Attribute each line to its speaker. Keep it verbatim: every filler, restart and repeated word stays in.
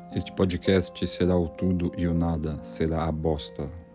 Speaker 1: Este podcast será o tudo e o nada será a bosta.